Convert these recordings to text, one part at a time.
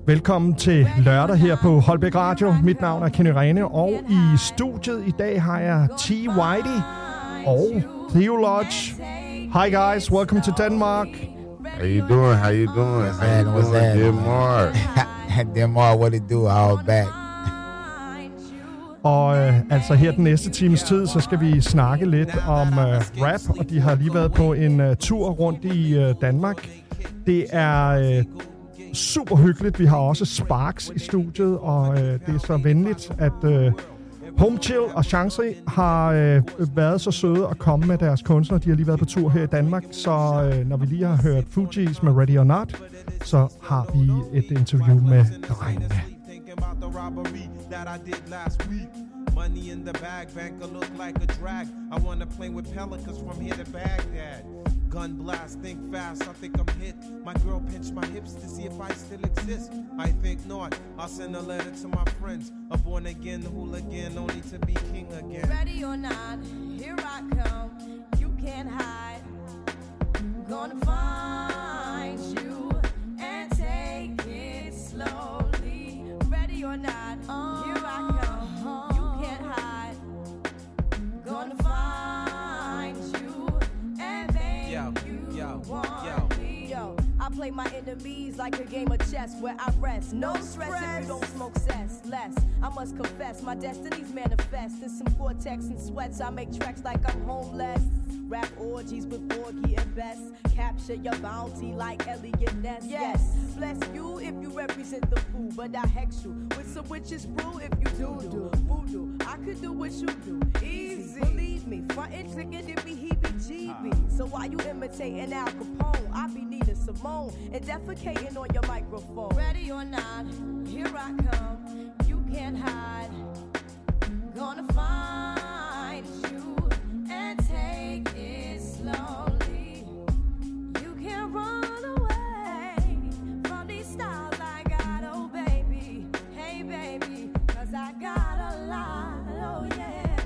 Velkommen til lørdag her på Holbæk Radio. Mit navn er Kenny Rene, og i studiet i dag har jeg T. Whitey og Theo Lodge. Hi guys, welcome to Denmark. How you doing? How you doing? How you doing, Denmark? Denmark, what it do? All back. Og altså her den næste times tid, så skal vi snakke lidt om rap, og de har lige været på en tur rundt i Danmark. Det er super hyggeligt. Vi har også Sparks i studiet, og det er så venligt, at Home Chill og Chance har været så søde at komme med deres kunstnere. De har lige været på tur her i Danmark, så når vi lige har hørt Fugees med Ready or Not, så har vi et interview med drengene. Money in the bag, banker look like a drag. I wanna play with pelicans from here to Baghdad. Gun blast, think fast, I think I'm hit. My girl pinched my hips to see if I still exist. I think not, I'll send a letter to my friends. A born again hooligan, only to be king again. Ready or not, here I come. You can't hide. Gonna find you and take it slowly. Ready or not, here I come. Gonna find you and make you want me. Yo, I play my enemies like a game of chess where I rest. No stress if you don't smoke cess. Less, I must confess, my destinies manifest. In some Cortex and sweats, I make tracks like I'm homeless. Rap orgies with Borgie and Best. Capture your bounty like Elliot Ness. Yes, bless you if you represent the fool, but I hex you with some witches brew if you do voodoo. I could do what you do, easy. Believe me, frontin' trickin' it be heebie-jeebie. So why you imitating Al Capone? I be Nina Simone and defecating on your microphone. Ready or not, here I come. You can't hide. Gonna find you and take it slowly. You can't run away from these styles I got, oh baby. Hey baby, 'cause I got a lot, oh yeah.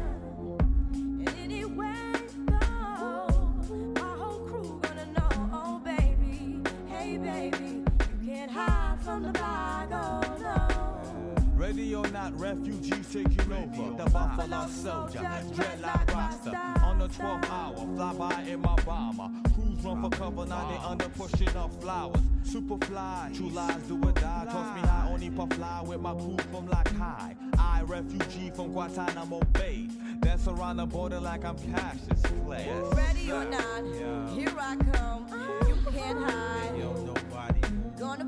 And anywhere you go, my whole crew gonna know, oh baby. Hey baby, you can't hide from the bag, oh no. Ready or not, refugees taking over. The Buffalo Soldier, dreadlock roster. On the 12th hour, fly by in my bomber. Crews run for cover, now they under pushing up flowers. Super fly, true lies do or die. Toss me high, only puff fly with my crew from like high. I, refugee from Guantanamo Bay. Dance around the border like I'm Cassius Clay. Ready or not, here I come. You can't hide. Yo, nobody Gonna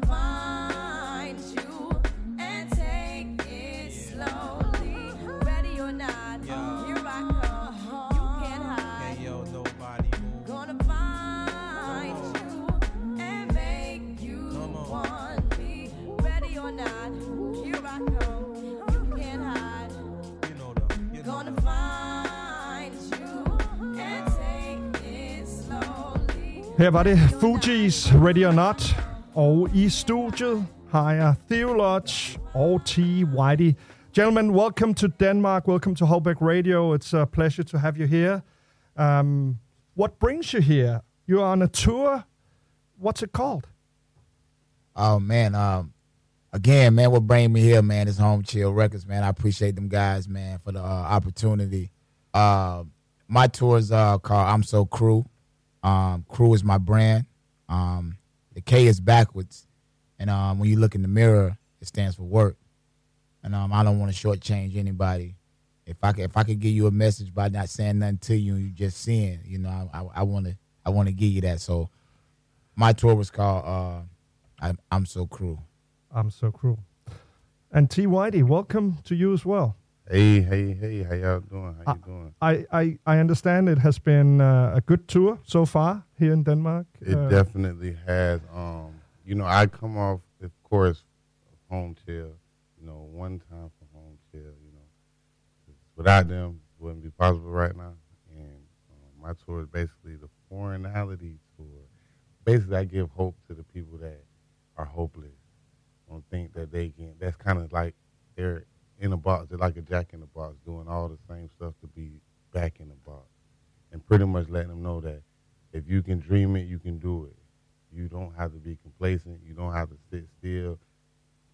find you and take it slowly. Ready or not, here I come. You can't hide. Yo, nobody move. Gonna find you and make you want me. Ready or not, here I come. You can't hide. Gonna find you and take it slowly. Her var det Fugees, Ready or Not. Og i studiet har jeg Theo Lodge og T. Whitey. Gentlemen, welcome to Denmark. Welcome to Holbæk Radio. It's a pleasure to have you here. What brings you here? You're on a tour. What's it called? Oh man, again, man, what bring me here, man, is Home Chill Records, man. I appreciate them guys, man, for the opportunity. My tour is called I'm So Crew. Crew is my brand. The K is backwards, and when you look in the mirror, it stands for work. And I don't want to shortchange anybody. If I could give you a message by not saying nothing to you, and you just seeing, you know, I want to give you that. So my tour was called I'm So Crew. I'm So Crew. And T. Whitey, welcome to you as well. Hey, how y'all doing? How you doing? I understand it has been a good tour so far here in Denmark. It definitely has. You know, I come off, of course, Home Chill. You know, one time for Home Chill. You know, without them, it wouldn't be possible right now. And my tour is basically the foreignality tour. Basically, I give hope to the people that are hopeless. Don't think that they can. That's kind of like they're in a box. They're like a jack in the box, doing all the same stuff to be back in the box, and pretty much letting them know that if you can dream it, you can do it. You don't have to be complacent. You don't have to sit still.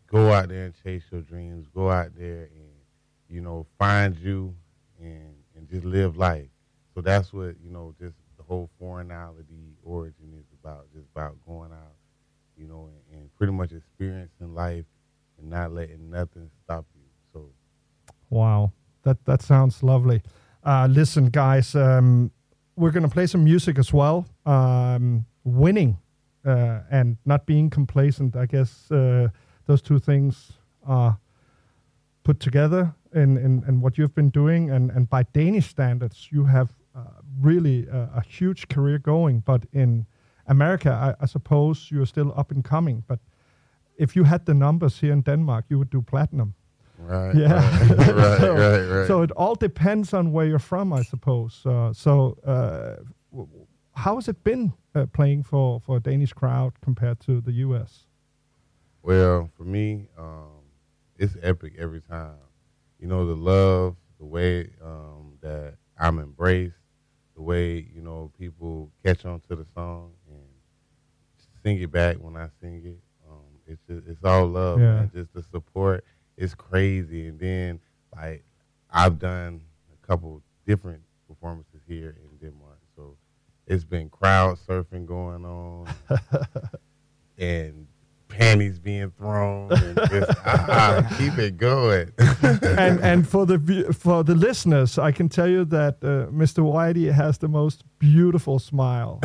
go out there and chase your dreams. Go out there and, you know, find you and just live life. So that's what, you know, just the whole foreignality origin is about, just about going out, you know, and pretty much experiencing life and not letting nothing stop you. So, wow, that sounds lovely. Listen, guys, we're going to play some music as well. Winning and not being complacent, I guess those two things are put together in what you've been doing. And by Danish standards, you have really a huge career going. But in America, I suppose you're still up and coming. But if you had the numbers here in Denmark, you would do platinum. Right. Yeah. Right. So it all depends on where you're from, I suppose. How has it been playing for a Danish crowd compared to the U.S.? Well, for me, it's epic every time. You know, the love, the way that I'm embraced, the way, you know, people catch on to the song and sing it back when I sing it. It's all love, man. Just the support is crazy. And then, like, I've done a couple different performances here in Denmark. So it's been crowd surfing going on and panties being thrown and just keep it going. and for the listeners, I can tell you that Mr. Whitey has the most beautiful smile.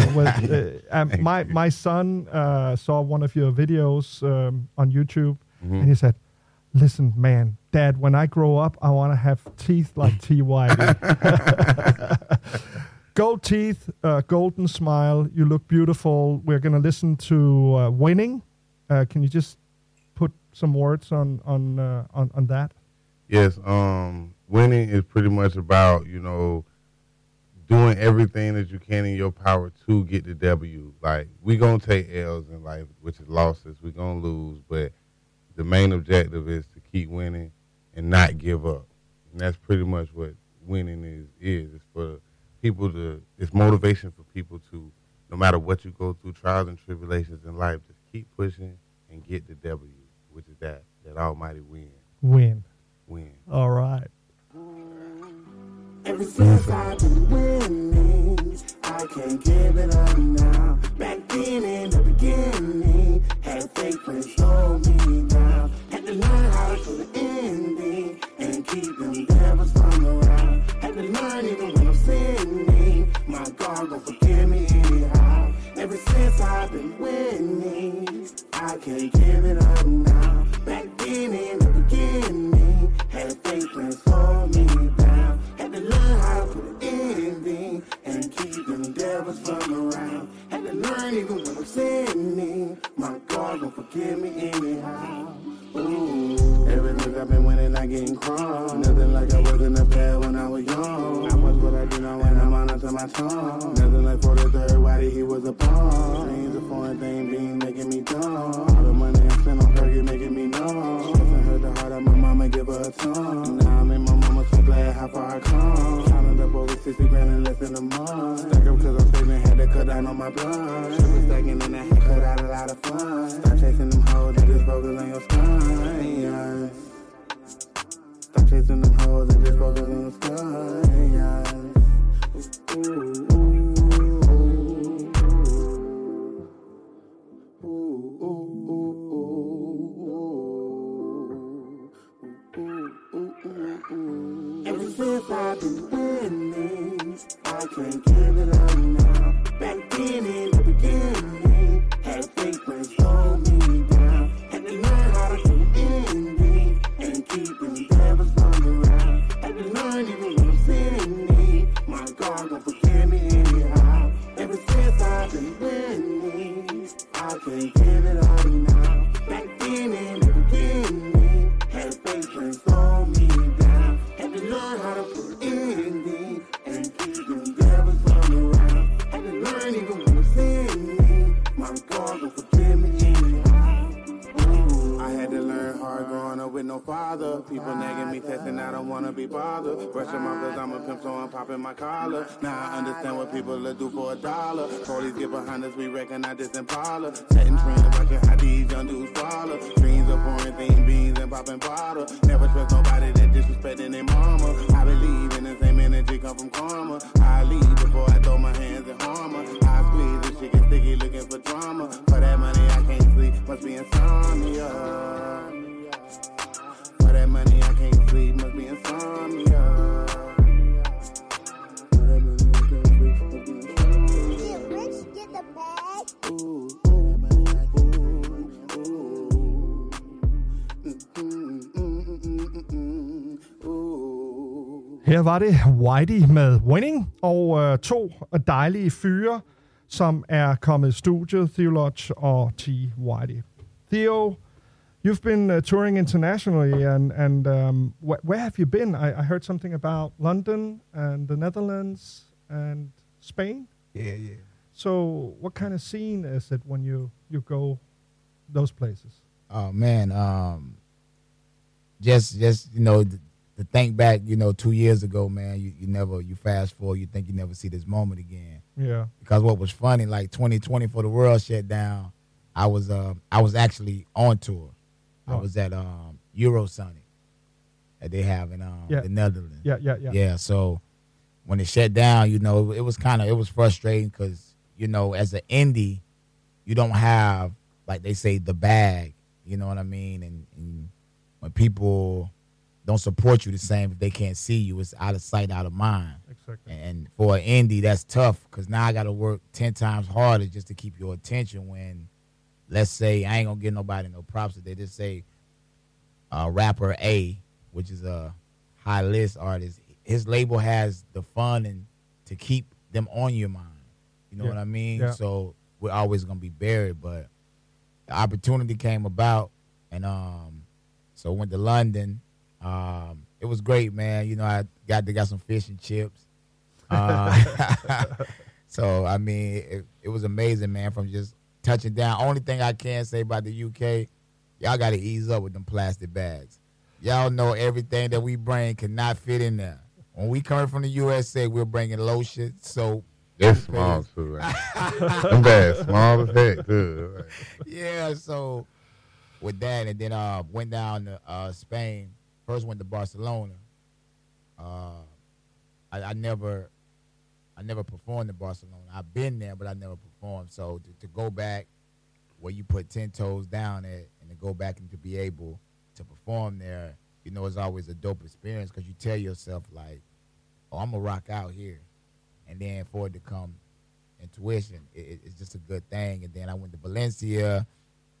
My son saw one of your videos on YouTube, and he said, "Listen, man, Dad, when I grow up, I want to have teeth like T. Whitey." Gold teeth, golden smile. You look beautiful. We're going to listen to Winning. Can you just put some words on that? Yes. Winning is pretty much about, you know, doing everything that you can in your power to get the W. Like, we going to take L's in life, which is losses. We're going to lose. But the main objective is to keep winning and not give up. And that's pretty much what winning is. It's for people it's motivation for people to, no matter what you go through, trials and tribulations in life, just keep pushing and get the W, which is that almighty win. Win. All right. Ever since I've been winning, I can't give it up now. Back then in the beginning, had fake friends slow me down. Had to learn how to put an ending and keep them devils from around. Had to learn even when I'm sinning, my God gon' forgive me anyhow. Ever since I've been winning, I can't give it up now. Back then in the beginning, had fake friends slow me down. Had to learn how to put an ending and keep them devils from around. Had to learn even when I'm sinning, my God gon' forgive me anyhow. Ooh, ever since I've been winning, I getting crumbs. Nothing like I was in the past when I was young. I was what I do now when I'm on to my tongue. Nothing like for the third, why did he was a bum? Dreams a foreign thing, being making me dumb. All the money I spent on Perky making me numb. Stressing hurt the heart of my mama, give her a tongue. Now I make my mama so glad how far I come. Counted up over 60 grand in less than a month. Stuck up cause I'm saving, had to cut down on my blood. Sugar stacking and I had cut out a lot of fun. Stop chasing them hoes and just focus on your spine. Stop chasing them hoes and just focus on your spine. Ever since I've been winning, I can't give it up now. Back then in the beginning, had fake friends slow me down. Had to learn how to do ending and keep them devils from around. Had to learn even when I'm sinning, my God gon' forgive me anyhow. Ever since I've been winning, I can't give it up now. Back then in the beginning, had fake friends slow me down. Had to learn how to put ending and keep them devils from around. Had to learn even when I'm sinning, my God gon' forgive me anyhow. Ooh, I had to learn hard growing up with no father. dollar. People nagging me, testing, I don't wanna be bothered. Brushing my cause I'm a pimp, so I'm popping my collar. Now I understand what people will do for $1. Police get behind us, we recognize this Impala. Setting trends, watching how these young dudes follow. Dreams of pouring things, beans and popping bottle. Never trust nobody that disrespecting their mama. I believe in the same energy come from karma. I leave before I throw my hands in harmor. I squeeze this shit get sticky looking for drama. For that money I can't sleep, must be insomnia. For that money I can't sleep, must be insomnia. For that money I can't sleep, must be insomnia. Get rich, get the bag. Ooh. Her var det Whitey med Winning, og to dejlige fyre, som er kommet i studiet, Theo Lodge og T. Whitey. Theo, you've been touring internationally, and where have you been? I heard something about London and the Netherlands and Spain. Yeah. So what kind of scene is it when you go those places? Oh man, just to think back, 2 years ago, man, you fast forward, you think you never see this moment again. Yeah. Because what was funny, like 2020 for the world shut down, I was actually on tour. I was at Eurosonic that they have in the Netherlands. Yeah. Yeah. So when it shut down, it was frustrating because as an indie, you don't have, like they say, the bag. You know what I mean? And when people don't support you the same, if they can't see you, it's out of sight, out of mind. Exactly. And for an indie, that's tough because now I got to work 10 times harder just to keep your attention when, let's say, I ain't going to give nobody no props. They just say rapper A, which is a high list artist, his label has the funding to keep them on your mind. You know what I mean? Yeah. So we're always going to be buried, but the opportunity came about, and so went to London. It was great, man. I got some fish and chips. So I mean, it was amazing, man. From just touching down. Only thing I can say about the UK, y'all got to ease up with them plastic bags. Y'all know everything that we bring cannot fit in there. When we come from the USA, we're bringing lotion, soap. It's small too, right? Them bags small as heck, too. Right? Yeah, so with that, and then went down to Spain. First went to Barcelona. I never performed in Barcelona. I've been there, but I never performed. So to go back where you put 10 toes down at, and to go back and to be able to perform there, it's always a dope experience because you tell yourself like, oh, I'm gonna rock out here. And then for it to come intuition, it's just a good thing. And then I went to Valencia,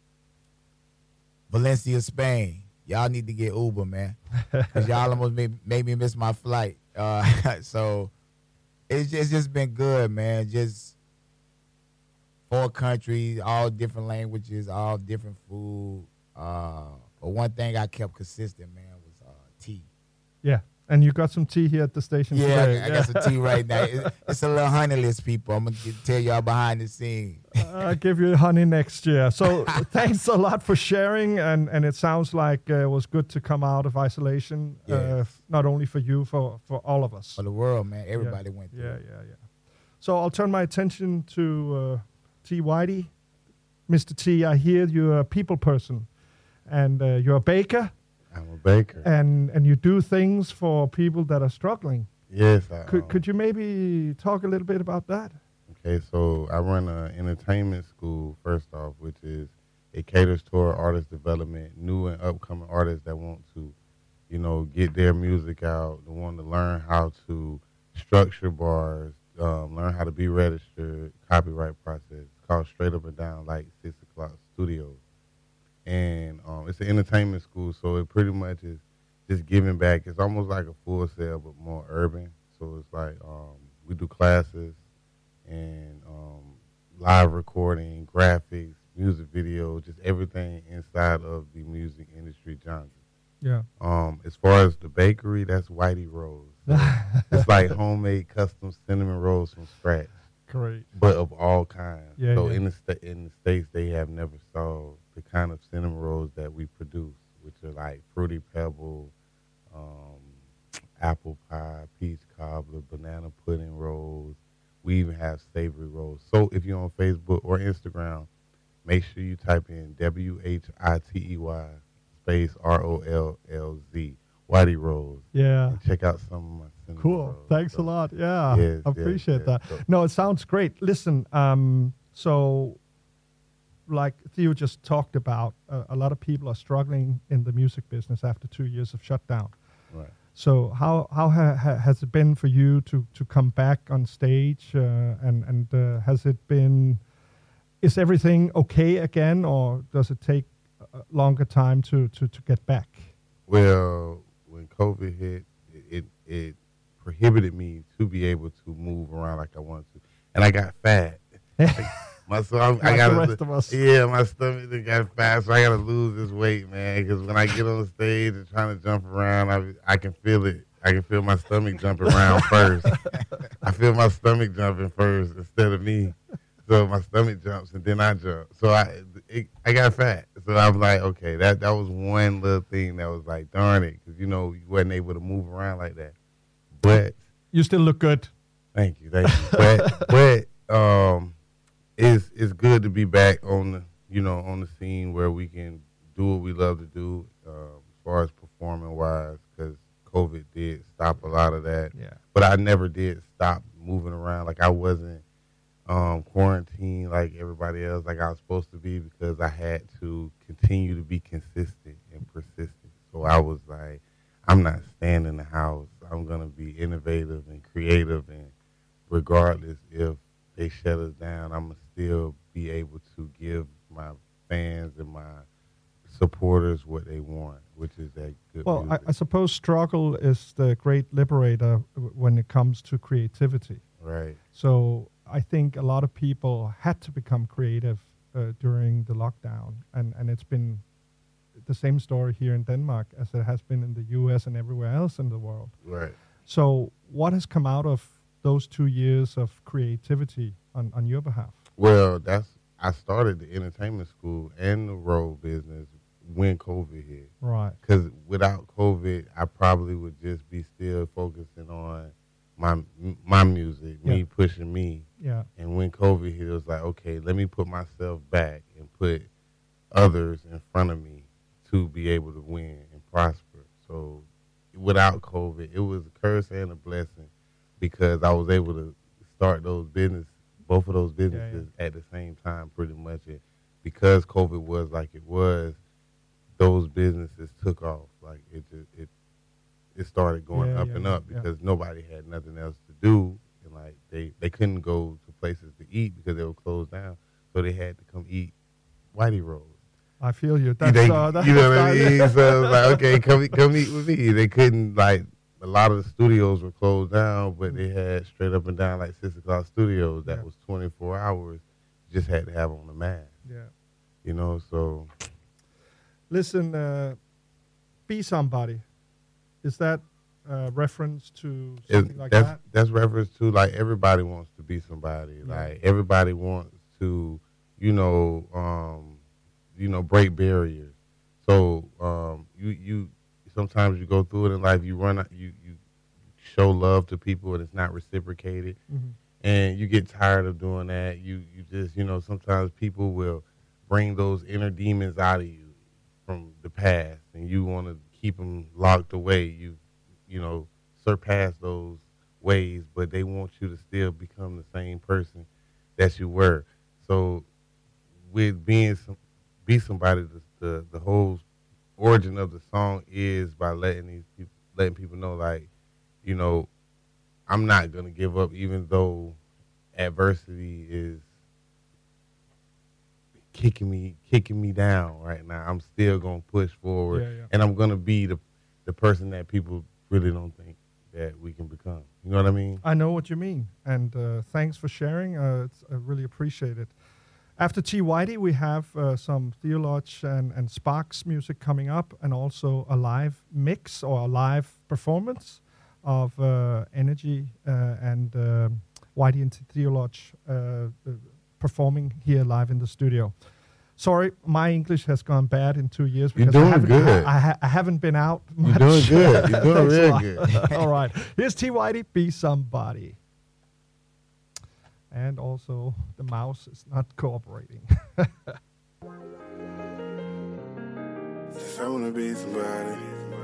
Spain. Y'all need to get Uber, man, because y'all almost made me miss my flight. So it's just been good, man. Just 4 countries, all different languages, all different food. But one thing I kept consistent, man, was tea. Yeah. And you got some tea here at the station today. I got some tea right now. It's a little honeyless, people. I'm going to tell y'all behind the scenes. I'll give you honey next year. So thanks a lot for sharing. And it sounds like it was good to come out of isolation, not only for you, for all of us. For the world, man. Everybody went through it. Yeah. So I'll turn my attention to T. Whitey. Mr. T, I hear you're a people person. And you're a baker. I'm a baker. And you do things for people that are struggling. Yes. Could you maybe talk a little bit about that? Okay, so I run an entertainment school, first off, which is it caters toward artist development, new and upcoming artists that want to, get their music out, that want to learn how to structure bars, learn how to be registered, copyright process. It's called Straight Up and Down, like 6 o'clock studios. And it's an entertainment school, so it pretty much is just giving back. It's almost like a Full Sail, but more urban. So it's like we do classes and live recording, graphics, music video, just everything inside of the music industry genre. Yeah. As far as the bakery, that's Whitey Rolls. So it's like homemade custom cinnamon rolls from scratch. Great. But of all kinds. Yeah, so yeah. in the States, they have never saw the kind of cinnamon rolls that we produce which are like Fruity Pebble, apple pie, peach cobbler, banana pudding rolls. We even have savory rolls. So if you're on Facebook or Instagram, make sure you type in WHITEY space ROLLZ, Whitey Rolls. Yeah. And check out some of my cinnamon Cool. rolls. Thanks a lot. Yeah. Yes, I appreciate yes. that. So- No, it sounds great. Listen, so like Theo just talked about, a lot of people are struggling in the music business after 2 years of shutdown. Right. So how has it been for you to come back on stage, and has it been, is everything okay again, or does it take a longer time to get back? Well, when COVID hit, it prohibited me to be able to move around like I wanted to, and I got fat. I got the rest of us. Yeah, my stomach got fat, so I got to lose this weight, man. Because when I get on the stage and trying to jump around, I can feel it. I can feel my stomach jumping around first. I feel my stomach jumping first instead of me. So my stomach jumps and then I jump. So I got fat. So I'm like, okay, that was one little thing that was like, darn it, because you wasn't able to move around like that. But You still look good. thank you. But it's good to be back on the scene where we can do what we love to do, as far as performing wise, because COVID did stop a lot of that. Yeah. But I never did stop moving around. Like I wasn't quarantined like everybody else, like I was supposed to be, because I had to continue to be consistent and persistent. So I was like, I'm not staying in the house. I'm gonna be innovative and creative, and regardless if they shut us down, I'm gonna still be able to give my fans and my supporters what they want, which is that good Well, music. I suppose struggle is the great liberator when it comes to creativity. Right. So I think a lot of people had to become creative during the lockdown, and it's been the same story here in Denmark as it has been in the US and everywhere else in the world. Right. So what has come out of those 2 years of creativity on your behalf? Well, I started the entertainment school and the road business when COVID hit. Right. Because without COVID, I probably would just be still focusing on my music, me pushing me. Yeah. And when COVID hit, it was like, okay, let me put myself back and put others in front of me to be able to win and prosper. So without COVID, it was a curse and a blessing, because I was able to start both of those businesses at the same time pretty much. And because COVID was like it was, those businesses took off. Like it started going up and up because nobody had nothing else to do. And like they couldn't go to places to eat because they were closed down. So they had to come eat Whitey Rolls. I feel you. You know what I mean? So it was like, okay, come eat with me. They couldn't, like, a lot of the studios were closed down, but they had straight up and down like 6 o'clock studios that was 24 hours. You just had to have on the mask. Yeah. So. Listen, Be Somebody. Is that reference to something like that? That's reference to, like, everybody wants to be somebody. Yeah. Like, everybody wants to, break barriers. So you sometimes you go through it in life. You show love to people and it's not reciprocated, and you get tired of doing that. You just sometimes people will bring those inner demons out of you from the past, and you want to keep them locked away. You surpass those ways, but they want you to still become the same person that you were. So with Be Somebody, the whole origin of the song is by letting people know, like, I'm not gonna give up, even though adversity is kicking me down right now. I'm still gonna push forward, and I'm gonna be the person that people really don't think that we can become. You know what I mean? I know what you mean, and thanks for sharing. I really appreciate it. After T. Whitey, we have some Theology and Sparks music coming up, and also a live mix or a live performance of Energy and Whitey and Theology performing here live in the studio. Sorry, my English has gone bad in 2 years You're because doing good. I haven't been out much. You're doing good. You're doing Thanks a real lot. good. All right. Here's T. Whitey, Be Somebody. And also, the mouse is not cooperating. Just I wanna be somebody.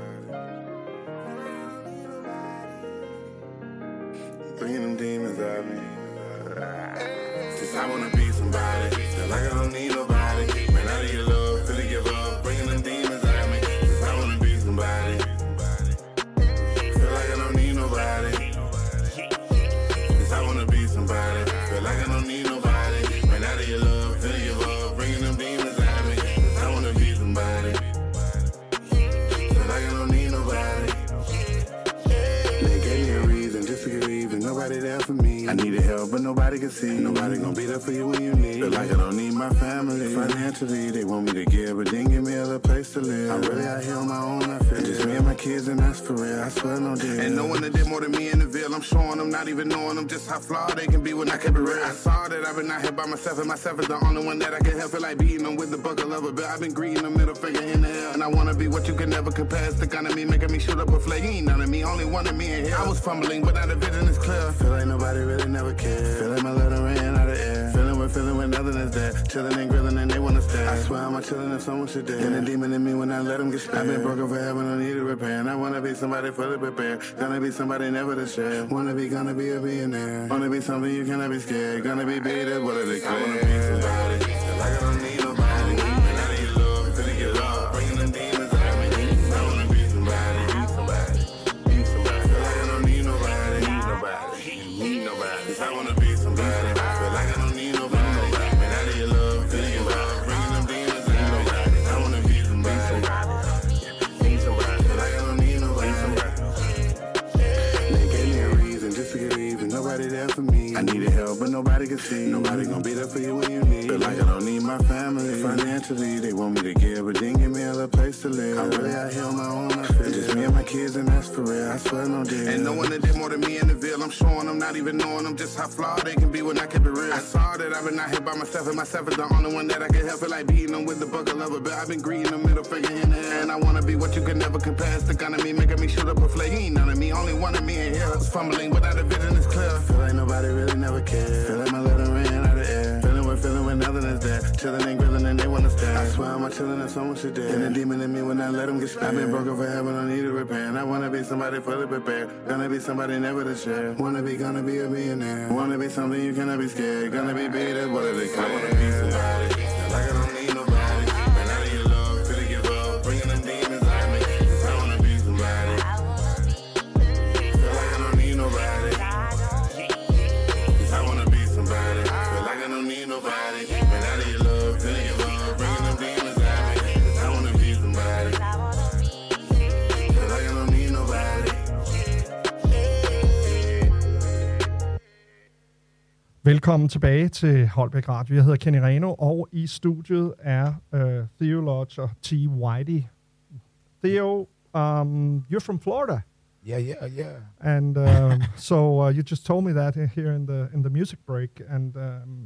Bringing them demons out me. Just I wanna be somebody. Feel like I don't need nobody. Man, out of your love, feel to give up. Bringing them demons out me. Just I wanna be somebody. Feel like I don't need nobody. Just I wanna be somebody. Feel like I don't need nobody. Man, out of your love, feel to give up. Bringing them demons out me. Just I wanna be somebody. Feel like I don't need nobody. They gave me a reason just to get even. Nobody there for me. I needed help, but nobody can see. Nobody gonna be there for you when you need. Feel like I don't need my family. Financially, they want me to give, but didn't give me a little place to live. I'm really out here on my own, I feel. Just me and my kids, and that's for real. I swear no deal. And no one that did more than me in the Ville. I'm showing them, not even knowing them, just how flawed they can be when I kept it real. I saw that I've been out here by myself, and myself is the only one that I can help. Feel like beating them with the buckle of a bill. I've been greeting the middle finger in the air, and I wanna be what you can never compare. It's the kind of me making me shoot up a flag. You ain't none of me, only one of me in here. I was fumbling, but now the vision is clear. Feel like nobody really never cared. Feel like my letter ran out of air. Feeling when nothing is there. Chilling and grilling and they wanna stare. I swear I'm chilling if someone should dare. And the demon in me when I let them get spared. I've been broken forever, no need to repair. And I wanna be somebody fully prepared. Gonna be somebody never to share. Wanna be, gonna be a billionaire. Wanna be something you cannot be scared. Gonna be beat up, what are they clear? I wanna be somebody. Feel like I don't need nobody. And out of your love, finna get love. Bringing them demons out me. I wanna be somebody. Be somebody. Feel like I don't need nobody. Need nobody. I wanna be somebody. Feel like I don't need nobody. And out of your love, finna get love. Bringing them demons out me. I wanna be somebody. Be somebody. Feel like I don't need nobody. They gave me a reason just to get even. Nobody there for me. I needed help, but nobody could see. Nobody gonna be there for you when you need. Feel like I don't need my family. Financially, they want me to give, but didn't give me a little place to live. I'm really out here on my own, I feel. Just me and my kids, and that's for real. I swear no deal. And no one that did more than me in the Ville. I'm showing them, not even knowing them, just how flawed they can be when I keep it real. I saw that I've been out here by myself, and myself is the only one that I can help. Feel like beating them with the buckle of a bill. I've been greeting the middle finger in the air, and I wanna be what you can never compare. It's the kind of me making me shoot up a flag. You ain't none of me, only one of me in here. I was fumbling, but now the vision is clear. Feel like nobody really never cared. Feel like my letter ran out of air. Feeling when nothing is there. Chilling and grilling and they wanna stare. I swear I'm chilling if someone should dare. And the demon in me when I let them get spared. I've been broken forever, no need to repair. And I wanna be somebody fully prepared. Gonna be somebody never to share. Wanna be, gonna be a millionaire. Wanna be something you cannot be scared. Gonna be beat up, what are they clear? I wanna be somebody. Feel like I don't need nobody. Man, out of your love, feel to give up. Bringing them demons out me. Cause I wanna be somebody. Feel like I don't need nobody. Cause I wanna be somebody. Feel like I don't need nobody. Man, out of your love, feel to give up. Bringing them demons out me. Cause I wanna be somebody. Feel like I don't need nobody. Velkommen tilbage til Holbæk Radio. Jeg hedder Kenny Reno, og i studiet er Theo Lodge og T. Whitey. Theo, you're from Florida. Yeah. And so you just told me that here in the music break. And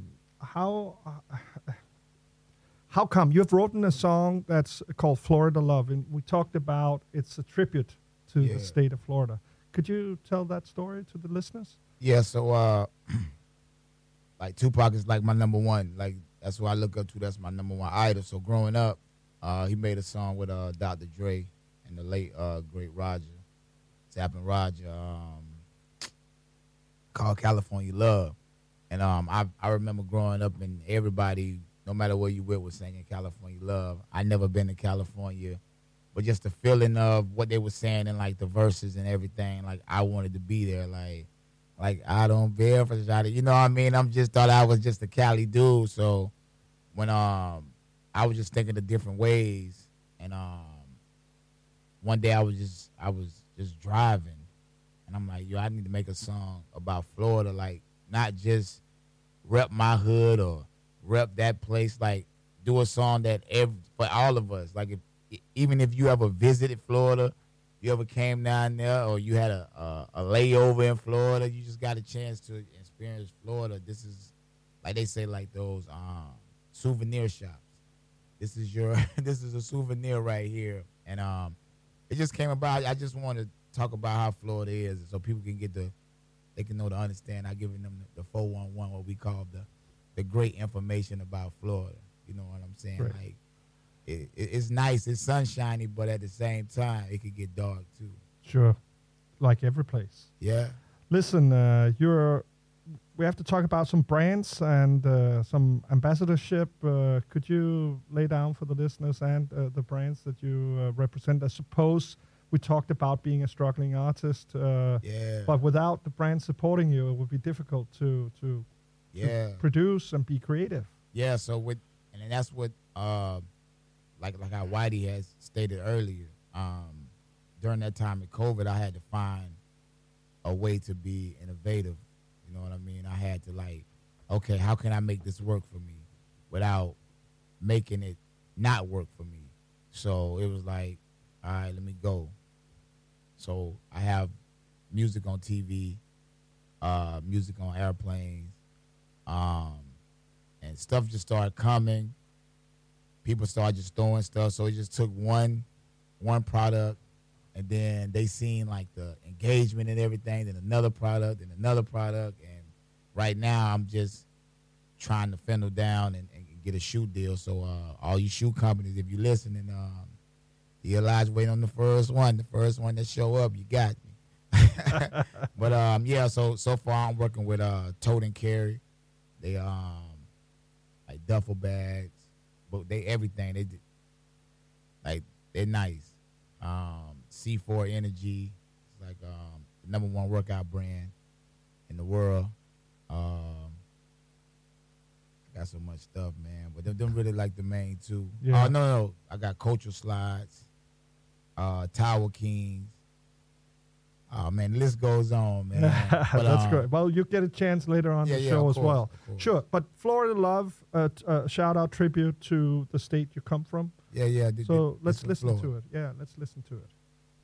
how come you've written a song that's called Florida Love, and we talked about it's a tribute to the state of Florida. Could you tell that story to the listeners? Yeah, so like Tupac is like my number one. Like that's who I look up to. That's my number one idol. So growing up, he made a song with Dr. Dre and the late great Roger, Zappin' Roger, called California Love. And I remember growing up and everybody, no matter where you went, was singing California Love. I never been to California, but just the feeling of what they were saying and like the verses and everything, like I wanted to be there. Like I don't bear for shot. You know what I mean? Thought I was just a Cali dude. So when I was just thinking of different ways, and one day I was just driving, and I'm like, yo, I need to make a song about Florida, like not just rep my hood or rep that place, like do a song that for all of us. Like even if you ever visited Florida, you ever came down there, or you had a layover in Florida, you just got a chance to experience Florida. This is, like they say, like those souvenir shops. this is a souvenir right here. And it just came about. I just want to talk about how Florida is, so people can they can know to understand. I giving them the 411, what we call the great information about Florida. You know what I'm saying? Right. Like it's nice, it's sunshiny, but at the same time, it could get dark too. Sure, like every place. Yeah. Listen, we have to talk about some brands and some ambassadorship. Could you lay down for the listeners and the brands that you represent? I suppose we talked about being a struggling artist, but without the brand supporting you, it would be difficult to produce and be creative. Yeah, so and that's what like how Whitey has stated earlier. During that time of COVID, I had to find a way to be innovative. You know what I mean? I had to okay, how can I make this work for me without making it not work for me? So it was like, all right, let me go. So I have music on TV, music on airplanes, and stuff just started coming. People started just throwing stuff. So it just took one product, and then they seen like the engagement and everything, then another product, and right now I'm just trying to fendle down and get a shoe deal. So all you shoe companies, if you're listening, Eli's waiting on the first one that show up, you got me. But yeah, so far I'm working with Tote and Carry. They like duffel bags, but they everything they did, like they're nice. C4 Energy, it's like the #1 workout brand in the world. I got so much stuff, man, but them really like the main two. Yeah. No, I got Cultural Slides, Tower Kings. Oh man, the list goes on, man. But, that's great. Well, you get a chance later on the show as well. Sure, but Florida Love, shout out tribute to the state you come from. Yeah. So let's listen to it. Yeah, let's listen to it.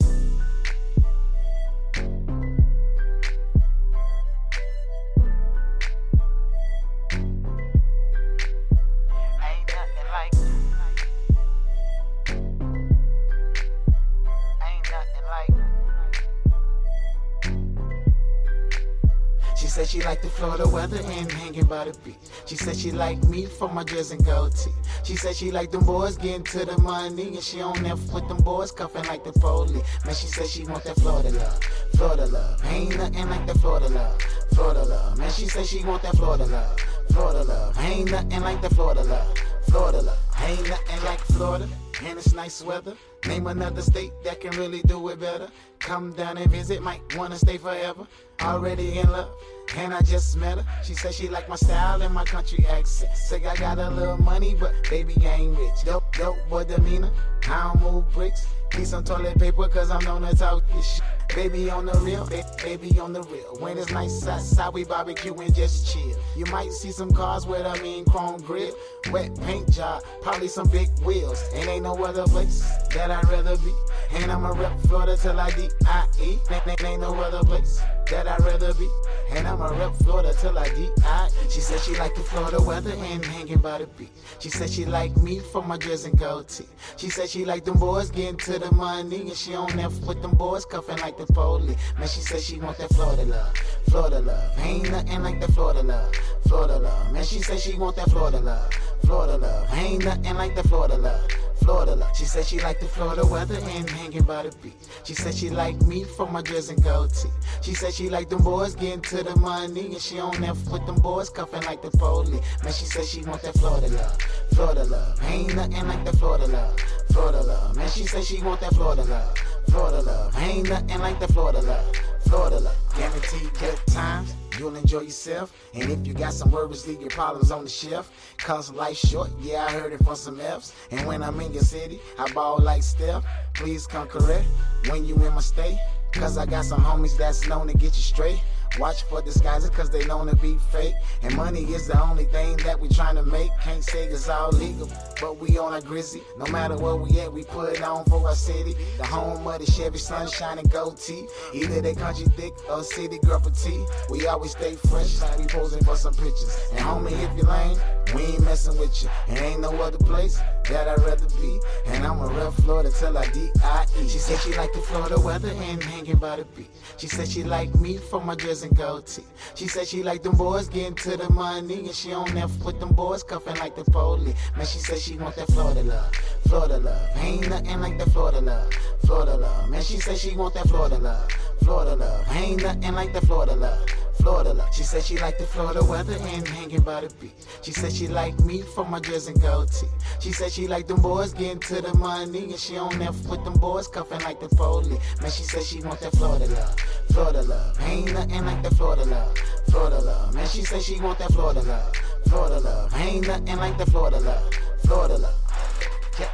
She said she liked the Florida weather and hanging by the beach. She said she liked me for my dress and goatee. She said she liked them boys getting to the money, and she on F with them boys cuffing like the police. Man, she said she want that Florida love, Florida love. Ain't nothing like the Florida love, Florida love. Man, she said she want that Florida love, Florida love. Ain't nothing like the Florida love, Florida love. Ain't nothing like Florida, and it's nice weather. Name another state that can really do it better. Come down and visit, might wanna stay forever. Already in love, and I just met her. She said she like my style and my country accent. Say I got a little money, but baby I ain't rich. Dope boy demeanor, I don't move bricks. Need some toilet paper, cause I'm known to talk this shit. Baby on the real, baby on the real. When it's nice outside, we barbecue and just chill. You might see some cars with a mean chrome grill. Wet paint job, probably some big wheels. And ain't no other place that I'd rather be. And I'ma rep Florida till I D-I-E. Ain't no other place that I'd rather be. And I'ma rep Florida till I D-I-E. She said she liked the Florida weather and hanging by the beach. She said she liked me for my dress and goatee. She said she liked them boys getting to the money, and she on F with them boys cuffing like the police. Man, she said she want that Florida love, Florida love. Ain't nothing like the Florida love, Florida love. Man, she said she want that Florida love, Florida love. Ain't nothing like the Florida love, Florida love. She said she liked the Florida weather and hanging by the beach. She said she liked me for my dress and goatee. She said she liked them boys getting to the money, and she on F with them boys cuffing like the police. Man, she said she want that Florida love, Florida love. Ain't nothing like the Florida love, Florida love. Man, she said she want that Florida love, Florida love. Ain't nothing like the Florida love, Florida love. Guaranteed good times, you'll enjoy yourself. And if you got some worries, leave your problems on the shelf. Cause life's short, yeah, I heard it from some F's. And when I'm in your city, I ball like Steph. Please come correct when you in my state. Cause I got some homies that's known to get you straight. Watch for disguises cause they known to be fake. And money is the only thing that we trying to make. Can't say it's all legal, but we on our grizzy. No matter where we at, we put it on for our city. The home of the Chevy sunshine and gold tee. Either they country thick or city girl petite. We always stay fresh, like we posing for some pictures. And homie, if you lame, we ain't messing with you. And ain't no other place that I'd rather be. And I'ma rep Florida till I D-I-E. She said she like the Florida weather and hanging by the beach. She said she like me for my dress and gold tee. She said she like them boys getting to the money. And she on there with them boys cuffing like the police. Man, she said she want that Florida love. Florida love. Ain't nothing like that Florida love. Florida love. Man, she said she want that Florida love. Florida love. Ain't nothing like that Florida love. Florida love. She said she like the Florida weather and hanging by the beach. She said she like me for my dress and gold tee. She said she like them boys getting to the money. And she on there with them boys cuffing like the police. Man, she said she want that Florida love. Florida love. Ain't nothing like that Florida love. Florida love. Man, she said she want that Florida love. Florida love. Ain't nothing like that Florida love. Florida love. Yeah.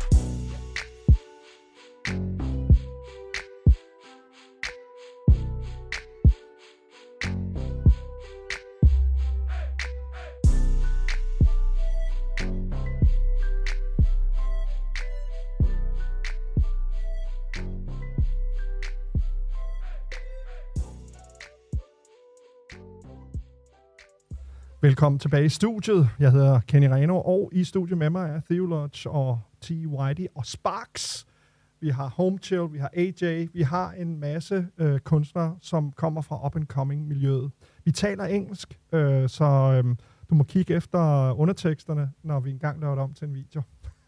Velkommen tilbage i studiet. Jeg hedder Kenny Reno, og i studiet med mig er Theolodge og T. Whitey og Sparks. Vi har Home Chill, vi har AJ, vi har en masse kunstnere, som kommer fra up-and-coming-miljøet. Vi taler engelsk, så du må kigge efter underteksterne, når vi engang laver det om til en video.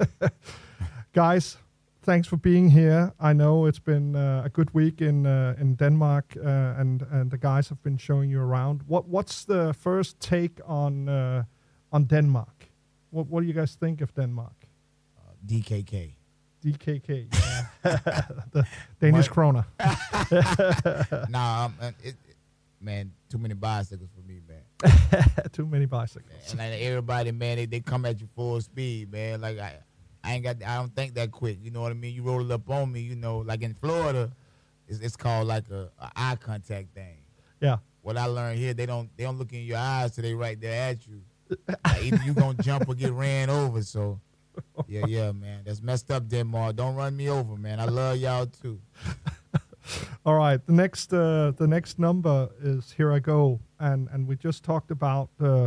Guys, thanks for being here. I know it's been a good week in Denmark, and the guys have been showing you around. What's the first take on Denmark? What do you guys think of Denmark? DKK. DKK, yeah. The Danish kroner. Nah, man, too many bicycles for me, man. Too many bicycles. And like everybody, man, they come at you full speed, man. Like I don't think that quick. You know what I mean? You roll it up on me, you know, like in Florida, it's called like a eye contact thing. Yeah. What I learned here, they don't look in your eyes till they right there at you. Like either you gonna jump or get ran over. So yeah, man, that's messed up, Denmark. Don't run me over, man. I love y'all too. All right, the next number is Here I Go, and we just talked about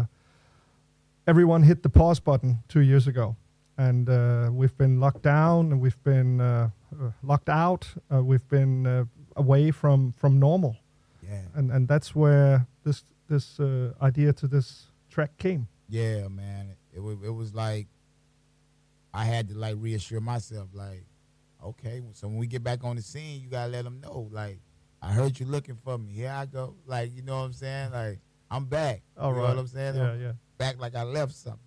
everyone hit the pause button 2 years ago. And we've been locked down, and we've been locked out. We've been away from normal, yeah. And that's where this idea to this track came. Yeah, man. It was like I had to like reassure myself, like, okay, so when we get back on the scene, you gotta let them know, like, I heard you looking for me. Here I go. Like, you know what I'm saying? Like, I'm back. All you right. know what I'm saying? Yeah. Back like I left something.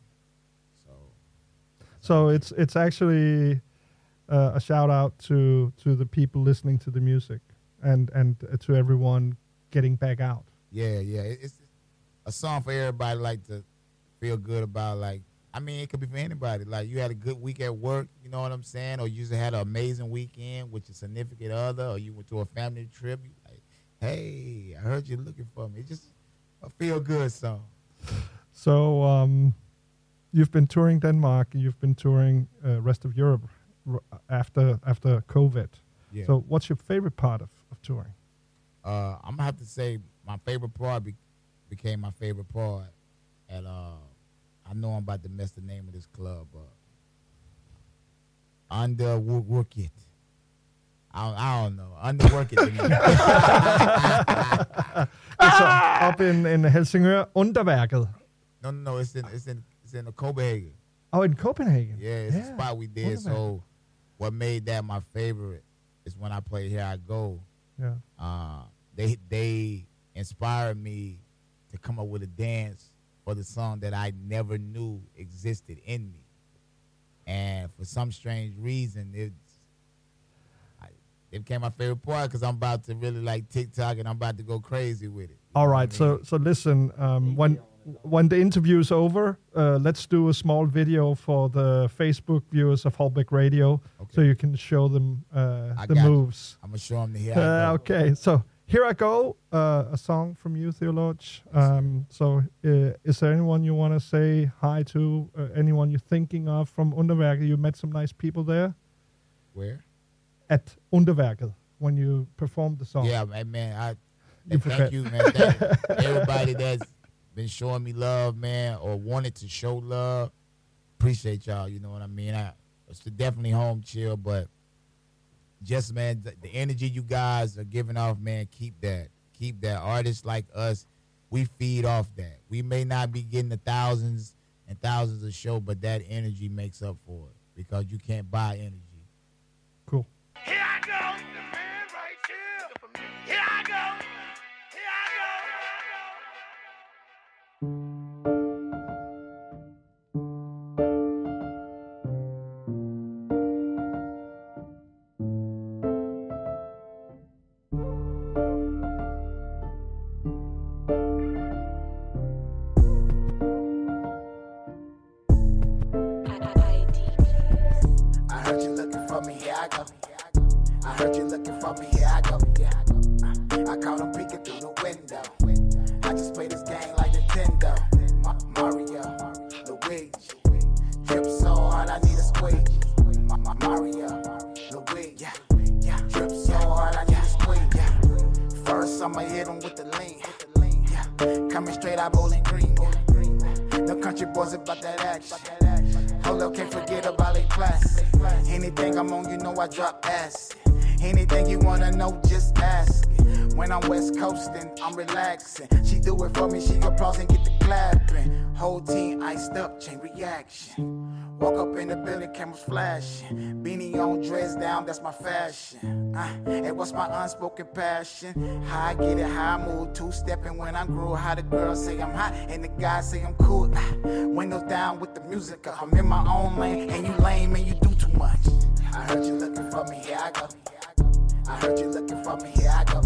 So it's actually a shout out to the people listening to the music and to everyone getting back out. Yeah. It's a song for everybody, like to feel good about. Like, I mean, it could be for anybody. Like, you had a good week at work, you know what I'm saying, or you just had an amazing weekend with your significant other, or you went to a family trip. You like, hey, I heard you looking for me. It's just a feel good song. So you've been touring Denmark, you've been touring rest of Europe after COVID. Yeah. So what's your favorite part of touring? I'm gonna have to say my favorite part became my favorite part at I know I'm about to mess the name of this club up. Underwork It. I don't know. Underwork It. It's up in Helsingør. Underværket. No. It's in Copenhagen. Oh, in Copenhagen. Yeah, it's a spot we did. So what made that my favorite is when I played Here I Go. Yeah. They inspired me to come up with a dance for the song that I never knew existed in me. And for some strange reason, it became my favorite part because I'm about to really like TikTok and I'm about to go crazy with it. All right, so listen, when the interview is over, let's do a small video for the Facebook viewers of Holbeck Radio, so you can show them the moves. I'm gonna show them the Here I Go. Okay, so Here I Go, a song from you, Theologe. So is there anyone you want to say hi to? Anyone you're thinking of from Underværket? You met some nice people there? Where? At Underværket, when you performed the song. Yeah, man. Thank you, man. Thank everybody that's been showing me love, man, or wanted to show love. Appreciate y'all, you know what I mean? It's definitely home chill, but just, man, the energy you guys are giving off, man, keep that. Keep that. Artists like us, we feed off that. We may not be getting the thousands and thousands of shows, but that energy makes up for it because you can't buy energy. Cool. Here I go, the man right here. Here I go. Here I I heard you looking for me, here I go. I heard you looking for me, here I go. I caught him peeking through the window. I just play this game like Nintendo. Mario, Luigi. Drip so hard, I need a squeeze. Mario, Luigi. Drip so hard, I need a squeeze. First, I'ma hit him with the lean. Coming straight out Bowling Green. No country boys about that action. Hold up, can't forget about a class. Anything I'm on, you know I drop acid. Anything you wanna know, just ask it. When I'm West Coastin', I'm relaxing. She do it for me, she applause and get the clapping. Whole team iced up, chain reaction. Walk up in the building, cameras flashing. Beanie on, dress down, that's my fashion. Hey, what's my unspoken passion? How I get it, how I move, two-stepping when I'm groove. How the girls say I'm hot and the guys say I'm cool. Windows down with the music, I'm in my own lane. And you lame and you do too much. I heard you looking for me, here I go. I heard you looking for me, here I go.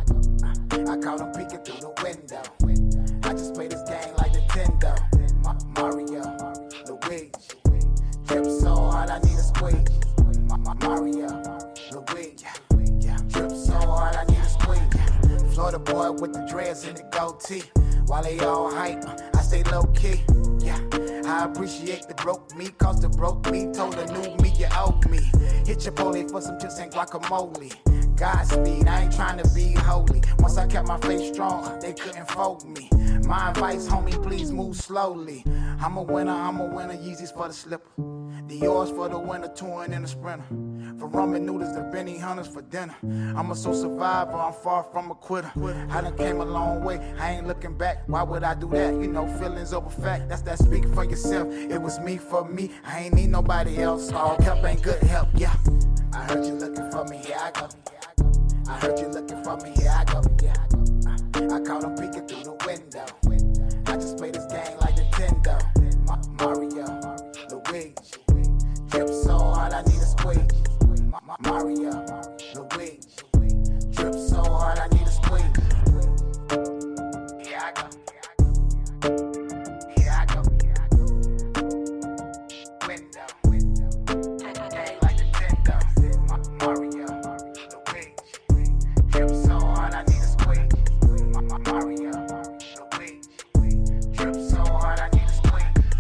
I caught him peeking through the window. I just play this game like Nintendo. Mario, Luigi. Drip so hard, I need a squeeze. Mario, Luigi. Drip so hard, I need a squeeze. Florida boy with the dreads and the goatee. While they all hype, I stay low key. Yeah, I appreciate the broke me, cause the broke me told the new me you owe me. Hit Chipotle for some chips and guacamole. Godspeed, I ain't trying to be holy. Once I kept my faith strong, they couldn't fold me. My advice, homie, please move slowly. I'm a winner, Yeezys for the slipper. Dior's for the winter, touring in the sprinter. For ramen noodles, the Benny Hunters for dinner. I'm a soul survivor, I'm far from a quitter. I done came a long way, I ain't looking back. Why would I do that? You know, feelings over fact. That's that speak for yourself. It was me for me, I ain't need nobody else. All help ain't good help, yeah. I heard you looking for me, here I go. I heard you looking for me, here I go. I caught him peeking through the window. I just play this game like Nintendo. Mario, Luigi. Drip so hard, I need a squeeze. Mario, Luigi. Drip so hard, I need a squeeze. Here I go. Here I go. Window. Game like Nintendo. Mario, Luigi. Drip so hard, I need a squeeze. Mario, Luigi. Drip so hard, I need a squeeze.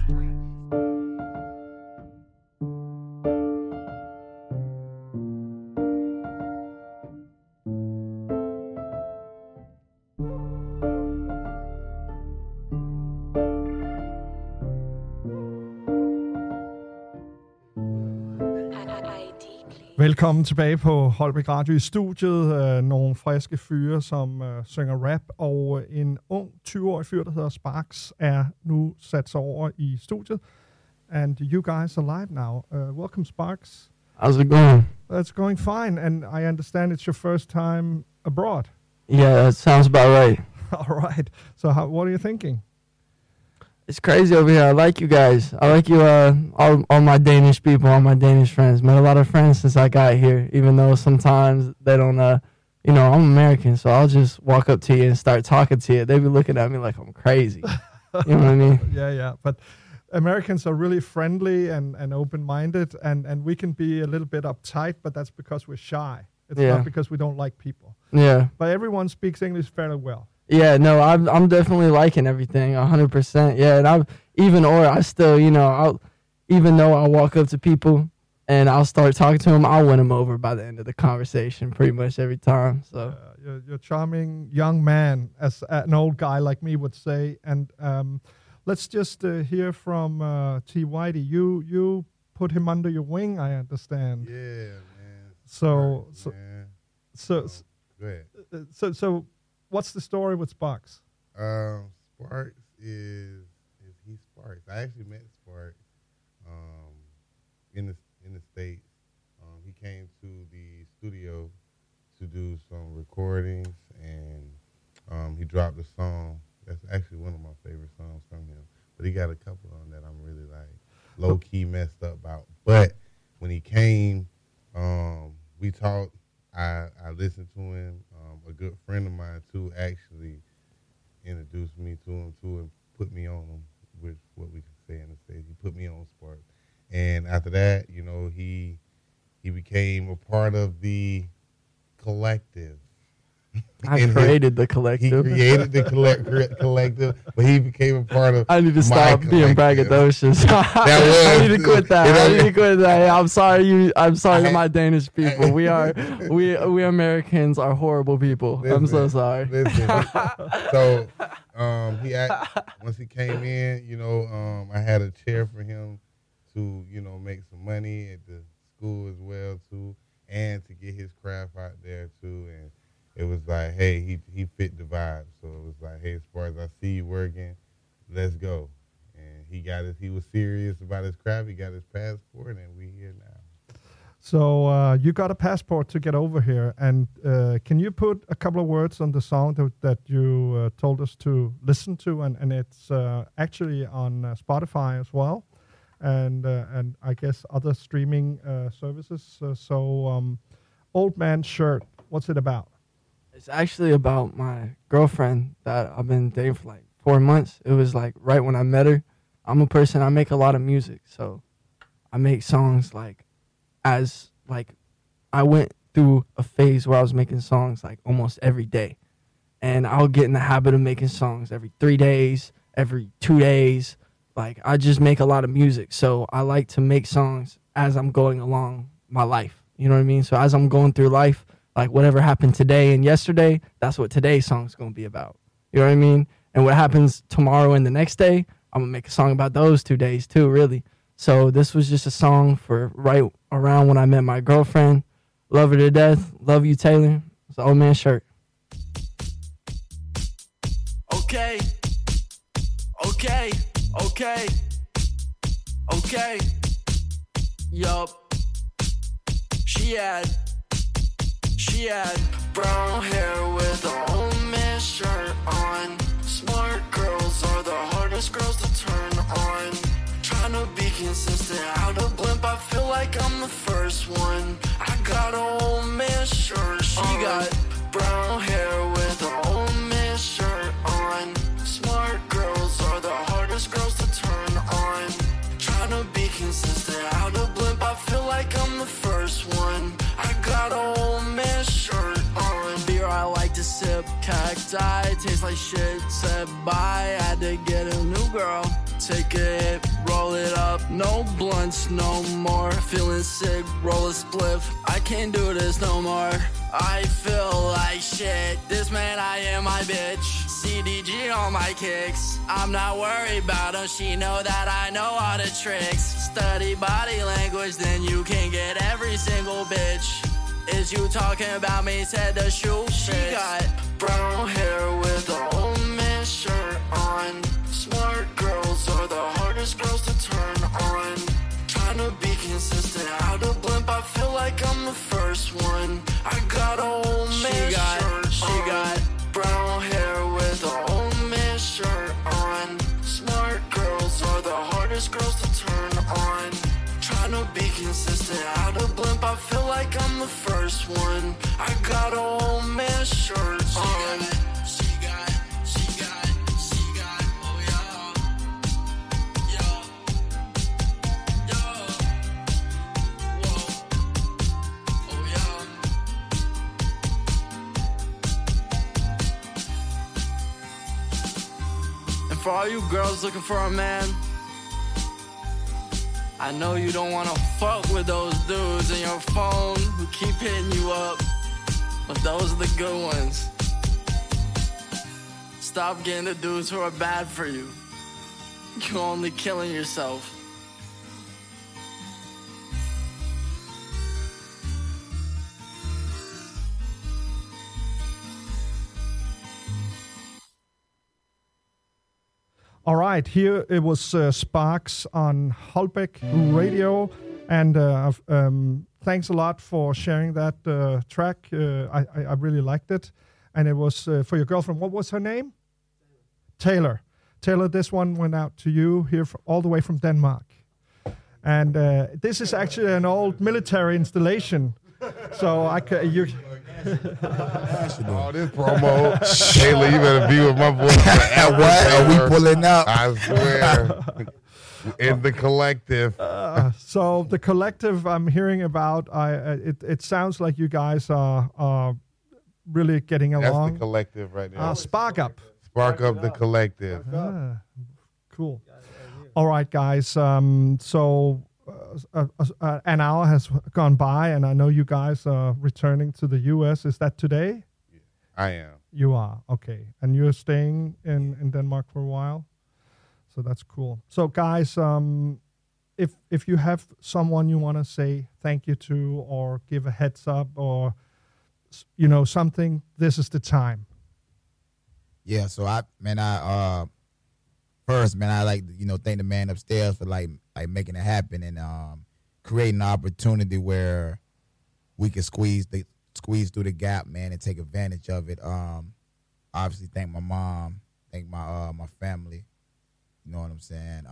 Velkommen tilbage på Holbæk Radio i studiet. Nogle friske fyre, som synger rap, og en ung 20-årig fyr, der hedder Sparks, er nu sat sig over i studiet. And you guys are live now. Welcome, Sparks. How's it going? It's going fine, and I understand it's your first time abroad. Yeah, that sounds about right. All right. So what are you thinking? It's crazy over here. I like you guys. I like you, all my Danish people, all my Danish friends. Met a lot of friends since I got here, even though sometimes they don't, you know, I'm American, so I'll just walk up to you and start talking to you. They be looking at me like I'm crazy. You know what I mean? Yeah. But Americans are really friendly and open-minded, and we can be a little bit uptight, but that's because we're shy. It's Yeah. not because we don't like people. Yeah. But everyone speaks English fairly well. Yeah, no, I'm definitely liking everything 100%. Yeah, and I still, even though I walk up to people and I'll start talking to them, I'll win them over by the end of the conversation pretty much every time. So You're a charming young man, as an old guy like me would say. And let's just hear from T. Whitey. You put him under your wing, I understand. Yeah, man. So go ahead. So what's the story with Sparks? Sparks is he Sparks. I actually met Sparks in the States. He came to the studio to do some recordings, and he dropped a song. That's actually one of my favorite songs from him. But he got a couple on that I'm really like low key messed up about. But when he came, we talked. I listened to him. A good friend of mine too actually introduced me to him too and put me on him, with what we can say in the States. He put me on Spark, and after that, he became a part of the collective. I created the collective. He created the collective, but he became a part of. I need to stop being braggadocious. I need to quit that. Hey, I'm sorry, to my Danish people. We Americans are horrible people. I'm so sorry. So, once he came in, I had a chair for him to, make some money at the school as well too, and to get his craft out there too, and. It was like, hey, he fit the vibe. So it was like, hey, as far as I see you working, let's go. And he was serious about his craft. He got his passport, and we here now. So you got a passport to get over here. And can you put a couple of words on the song that you told us to listen to? And it's actually on Spotify as well, and I guess other streaming services. Old Man's Shirt, what's it about? It's actually about my girlfriend that I've been dating for like 4 months. It was like right when I met her. I make a lot of music, so I make songs I went through a phase where I was making songs like almost every day. And I'll get in the habit of making songs every 3 days, every 2 days. Like I just make a lot of music. So I like to make songs as I'm going along my life. You know what I mean? So as I'm going through life, like whatever happened today and yesterday, that's what today's song's going to be about. You know what I mean? And what happens tomorrow and the next day, I'm going to make a song about those 2 days too, really. So this was just a song for right around when I met my girlfriend. Love her to death. Love you, Taylor. It's the Old Man Shirt. Okay. Yup. She had brown hair with an Old Man shirt on. Smart girls are the hardest girls to turn on. Trying to be consistent, out of blimp, I feel like I'm the first one. I got an Old Man shirt. She got brown hair with an Old Man shirt on. Smart girls are the hardest girls to turn on. Trying to be consistent, out of blimp, I feel like I'm the first one. I got an Old Man shirt on. Beer I like to sip, cacti, tastes like shit. Said bye, had to get a new girl. Take a hit, roll it up, no blunts no more. Feeling sick, roll a spliff, I can't do this no more. I feel like shit, this man I am my bitch. CDG on my kicks, I'm not worried about him. She know that I know all the tricks. Study body language, then you can get every single bitch. Is you talking about me, said the shoe fits. She got brown hair with an Old Man shirt on. Smart girls are the hardest girls to turn on. Trying to be consistent, out of blimp, I feel like I'm the first one. I got an Old Man shirt. She got brown hair with an Old Man shirt on. Smart girls are the hardest girls to turn on. Trying to be consistent, out of blimp, I feel like I'm the first one. I got an Old Man shirt on. For all you girls looking for a man, I know you don't wanna fuck with those dudes in your phone who keep hitting you up, but those are the good ones. Stop getting the dudes who are bad for you. You're only killing yourself. All right, here it was Sparks on Holbeck Radio, and thanks a lot for sharing that track. I really liked it, and it was for your girlfriend. What was her name? Taylor. Taylor, this one went out to you here all the way from Denmark, and this is actually an old military installation. So you. All this promo, Taylor, you better be with my boy. What are we pulling up? I swear, in the collective. So the collective I'm hearing about, it sounds like you guys are really getting along. That's the collective right now. Spark Up. Spark Up the collective. Cool. All right, guys. So. An hour has gone by, and I know you guys are returning to the U.S. Is that today? I am. You are, okay. And you're staying in Denmark for a while? So that's cool. So, guys, if you have someone you want to say thank you to or give a heads up or, something, this is the time. Yeah, so first, man, I like to, thank the man upstairs for like making it happen and creating an opportunity where we can squeeze through the gap, man, and take advantage of it. Obviously, thank my mom, thank my family. You know what I'm saying?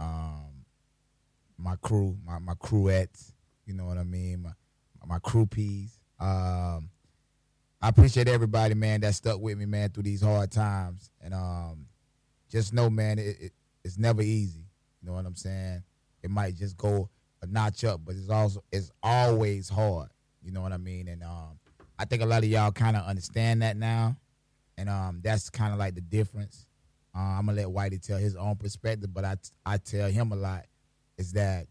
My crew, my crewettes. You know what I mean? My crew peas. I appreciate everybody, man, that stuck with me, man, through these hard times. And just know, man, it's never easy. You know what I'm saying? It might just go a notch up, but it's always hard. You know what I mean? And I think a lot of y'all kind of understand that now, and that's kind of like the difference. I'm gonna let Whitey tell his own perspective, but I tell him a lot is that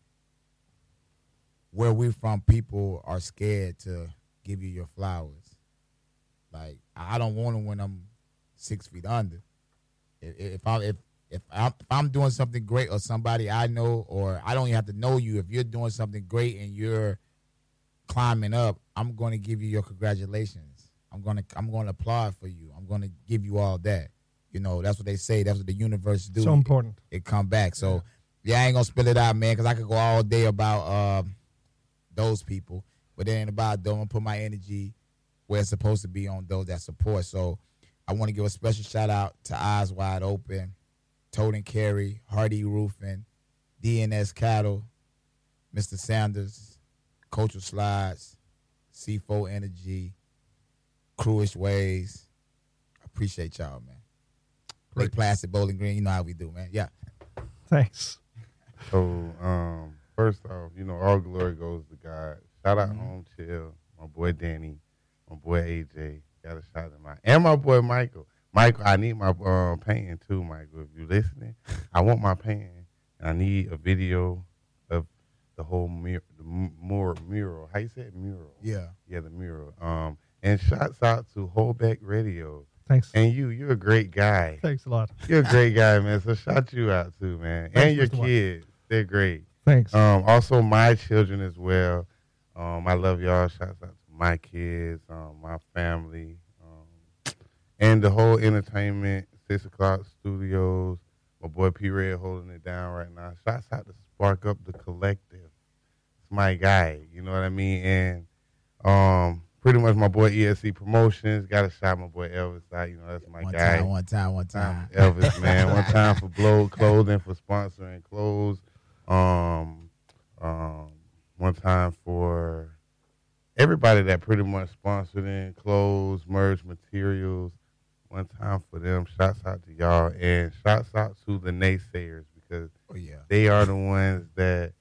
where we're from, people are scared to give you your flowers. Like I don't want them when I'm 6 feet under. If I'm doing something great or somebody I know, or I don't even have to know you, if you're doing something great and you're climbing up, I'm going to give you your congratulations. I'm going to applaud for you. I'm going to give you all that. That's what they say. That's what the universe do. So important. It come back. So yeah, I ain't gonna spill it out, man, because I could go all day about those people, but it ain't about them. I'm gonna put my energy where it's supposed to be on those that support. So I want to give a special shout out to Eyes Wide Open, Toad and Carry, Hardy Roofing, DNS Cattle, Mr. Sanders, Cultural Slides, C4 Energy, Cruish Ways. Appreciate y'all, man. Lake Placid, Bowling Green, you know how we do, man. Yeah. Thanks. So, first off, all glory goes to God. Shout out Home Chill, my boy Danny, my boy AJ. Got a shout out and my boy Michael. Michael, I need my painting too, Michael. If you're listening, I want my painting. And I need a video of the whole mural. How you say it? Mural. Yeah. Yeah, the mural. And shouts out to Holbeck Radio. Thanks. And you're a great guy. Thanks a lot. You're a great guy, man. So shout you out too, man. Thanks, and your Mr. kids. They're great. Thanks. Also my children as well. I love y'all. Shouts out to my kids, my family, and the whole entertainment, 6 O'Clock Studios. My boy P Red holding it down right now. Shouts out to Spark Up the Collective. It's my guy. You know what I mean? And pretty much my boy ESC Promotions. Got to shout my boy Elvis out. That's my guy. One time. Elvis, man. One time for Blow Clothing, for sponsoring clothes. One time for everybody that pretty much sponsored in clothes, merch, materials. One time for them. Shouts out to y'all. And shouts out to the naysayers because they are the ones that,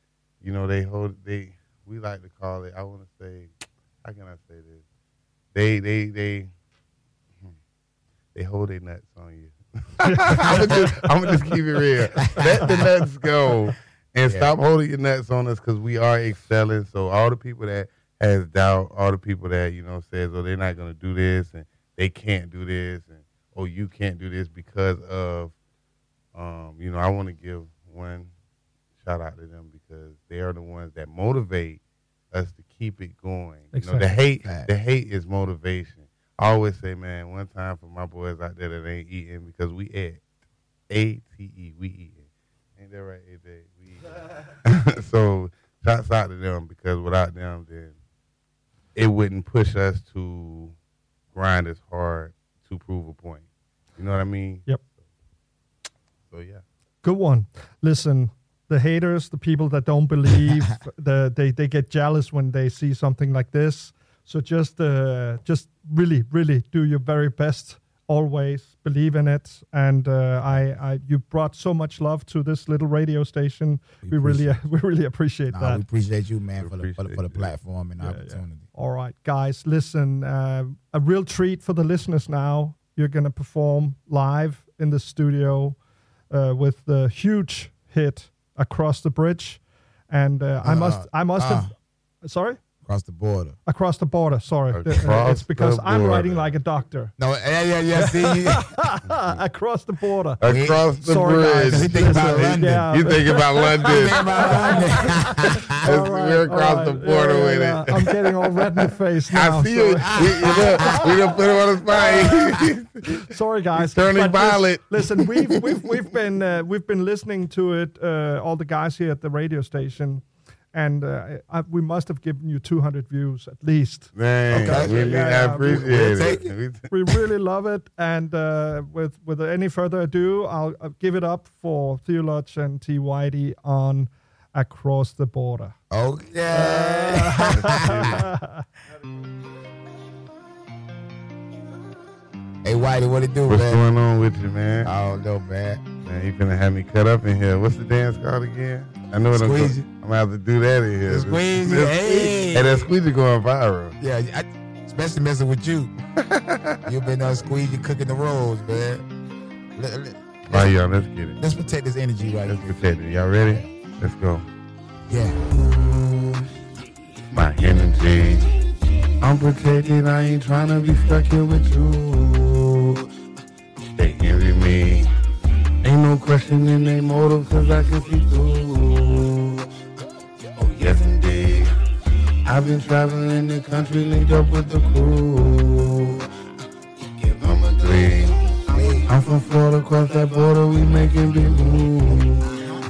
we like to call it, I want to say, how can I say this? They hold their nuts on you. I'm gonna just keep it real. Let the nuts go and stop holding your nuts on us because we are excelling. So all the people that has doubt, all the people that says, oh, they're not gonna do this and they can't do this, and oh, you can't do this because of, I want to give one shout out to them because they are the ones that motivate us to keep it going. Exactly. The hate is motivation. I always say, man, one time for my boys out there that ain't eating because we ate. A-T-E, we eating. Ain't that right, AJ? We eating. So shouts out to them because without them, then it wouldn't push us to grind as hard to prove a point. You know what I mean? Yep. So, yeah. Good one. Listen, the haters, the people that don't believe, they get jealous when they see something like this. So just really, really do your very best. Always believe in it. And you brought so much love to this little radio station. We really appreciate that. We appreciate you, man, for the platform and opportunity. Yeah. All right, guys, listen, a real treat for the listeners now. You're going to perform live in the studio with the huge hit Across the Bridge. And I must have... Sorry? Across the border. Across the border, sorry. It's because I'm writing like a doctor. No, yeah, see? Across the border. Across the Guys, bridge. you think about London. Yeah. You think about London. We're across the border with it. I'm getting all red in the face now. I see it. We gonna put him on the spot. Sorry, guys. He's turning violet. Listen, we've been listening to it. All the guys here at the radio station. And we must have given you 200 views at least. Man, okay. I appreciate it. We really love it. And with any further ado, I'll give it up for Theology and T. Whitey on Across the Border. Okay. Hey, Whitey, what it do, What's man? going on with you, man? I don't know, man. Man, you finna have me cut up in here. What's the dance called again? I know what I'm going to have to do that in here. Squeeze it. Hey, that squeezy going viral. Yeah, especially messing with you. You've been squeezing, cooking the rolls, man. All right, y'all, let's get it. Let's protect this energy right here. Let's protect it. Y'all ready? Let's go. Yeah. My energy. I'm protected. I ain't trying to be stuck here with you. They envy me. Ain't no questioning their motive cause I can see through. Oh yes indeed. I've been traveling the country linked up with the crew. Give them a three. I'm from Florida, across that border, we making big moves.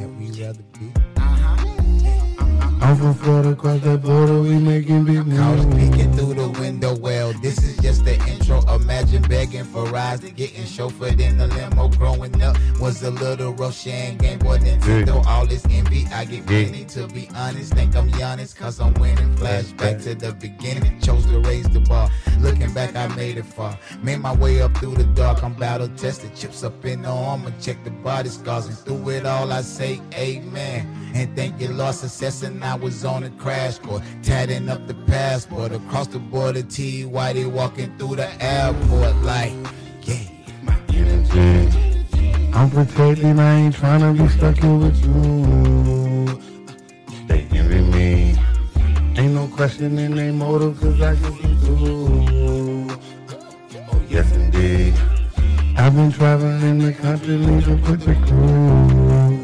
I'm from Florida, across that border, we making big moves. I was peeking through the window, well, this is just the intro. Imagine begging for rides, getting chauffeured in the limo. Growing up was a little Roshan, Game Boy, Nintendo. All this envy, I get plenty, to be honest. Think I'm Giannis, cause I'm winning. Flashback to the beginning, chose to raise the bar. Looking back, I made it far. Made my way up through the dark, I'm battle tested. Chips up in the armor, check the body scars. And through it all, I say amen. And thank you, Lord, success, and I was on a crash course, tatting up the passport. Across the border, T. Whitey walking through the airport like, yeah. My energy. I'm protected, I ain't trying to be stuck here with you. They envy me. Ain't no questioning their motive cause I can see through. Oh yes indeed. I've been traveling the country leading with the crew.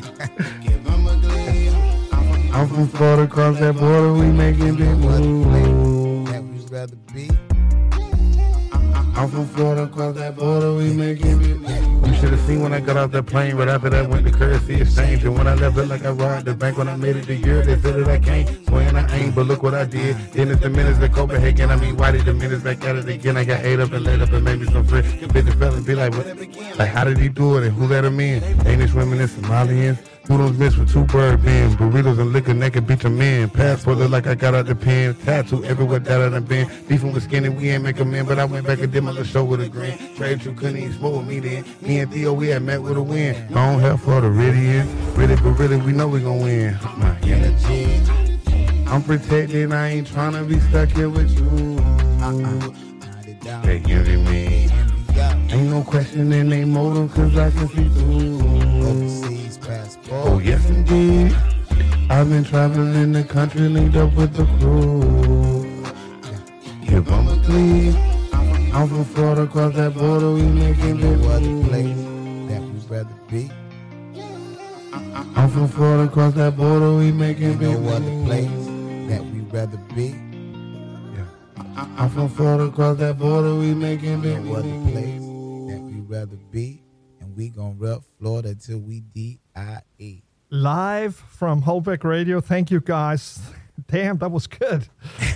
I'm from Florida, across that border, we making big moves. I'm from Florida, across that border, we making big moves. You should have seen when I got off that plane, but after that went to currency exchange. And when I left it like I robbed the bank, when I made it the year, they said that I can't. Swearing I ain't, but look what I did. Then it's the minutes to Copenhagen, why did the minutes back at it again? I got ate up and laid up and made me some friends. The bitch fell and be like, what? Like, how did he do it and who let him in? Danish women and Somalians. Noodles mixed with 2 bird pins, burritos and liquor, naked beat them in. Passport look like I got out the pen. Tattoo everywhere that I done been. Beefing with Skinny, we ain't make 'em in, but I went back and did my little show with a grin. Trade you couldn't even smoke with me then. Me and Theo, we had met with a win. Long hair for the Ridians. Really, but really, we know we gon' win. My energy. I'm protected, I ain't tryna be stuck here with you. They envy me. Ain't Ain't no question in they motive, cause I can see through. Overseas passport. Oh, yes, indeed. I've been traveling the country, linked up with the crew. If I'm a clean, I'm from Florida, across that border, we making big other place that we'd rather be. I'm from Florida, across that border, we making big no other place that we'd rather be. I'm from Florida, across that border, we making big no other place that we'd rather be. And we gon' rep Florida till we D-I-E. Live from Holbeck Radio. Thank you, guys. Damn, that was good.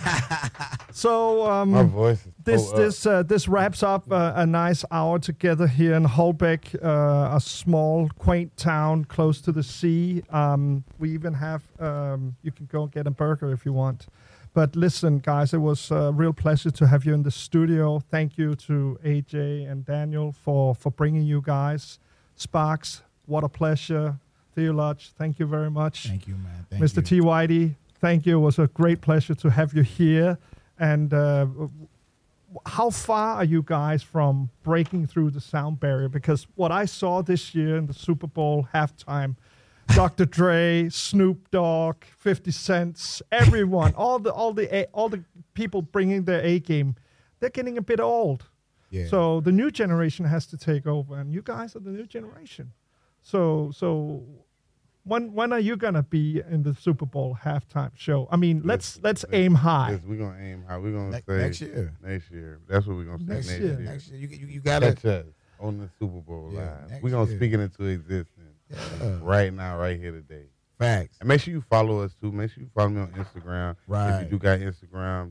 So my voice is this wraps up a nice hour together here in Holbeck, a small, quaint town close to the sea. We even have you can go and get a burger if you want. But listen, guys, it was a real pleasure to have you in the studio. Thank you to AJ and Daniel for bringing you guys. Sparks, what a pleasure. Theolodge, thank you very much. Thank you, man. Thank Mr. T. Whitey, thank you. It was a great pleasure to have you here. And how far are you guys from breaking through the sound barrier? Because what I saw this year in the Super Bowl halftime, Dr. Dre, Snoop Dogg, 50 Cent, everyone, all the people bringing their A game, they're getting a bit old. Yeah. So the new generation has to take over, and you guys are the new generation. So when are you gonna be in the Super Bowl halftime show? I mean, let's aim high. Yes, we're gonna aim high. We're gonna say next year. Next year. That's what we're gonna say. Next year. Next year. You gotta catch us on the Super Bowl live. We're gonna speak it into existence right now, right here today. Facts. And make sure you follow us too. Make sure you follow me on Instagram. Right. If you do got Instagram,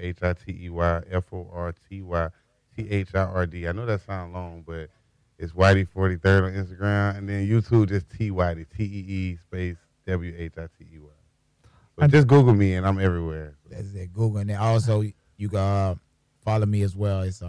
WHITEYFORTYTHIRD. I know that sounds long, but it's Whitey43rd on Instagram, and then YouTube just T Whitey, TEE space WHITEY. So just Google me, and I'm everywhere. That's it, Google. And then also you can follow me as well. It's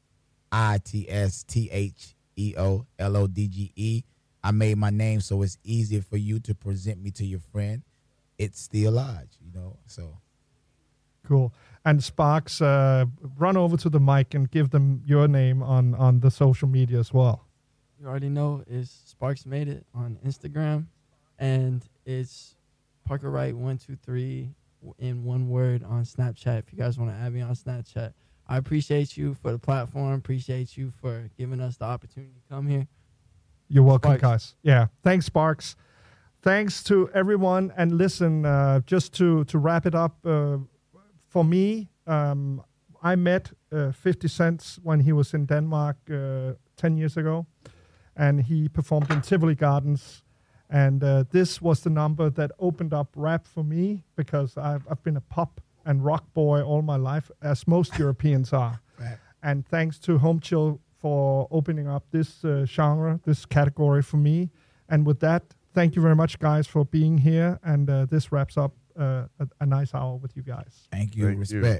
ITSTHEOLODGE. I made my name so it's easier for you to present me to your friend. It's still Lodge, so. Cool. And Sparks, run over to the mic and give them your name on the social media as well. You already know it's Sparks Made It on Instagram, and it's Parker Wright 123 in one word on Snapchat. If you guys want to add me on Snapchat, I appreciate you for the platform. Appreciate you for giving us the opportunity to come here. You're welcome, Sparks. guys. Yeah, thanks, Sparks. Thanks to everyone. And listen, just to wrap it up, for me, I met 50 Cent when he was in Denmark 10 years ago, and he performed in Tivoli Gardens. And this was the number that opened up rap for me, because I've been a pop and rock boy all my life, as most Europeans are. Right. And thanks to Home Chill for opening up this genre, this category for me. And with that, thank you very much, guys, for being here. And this wraps up a nice hour with you guys. Thank you. Respect.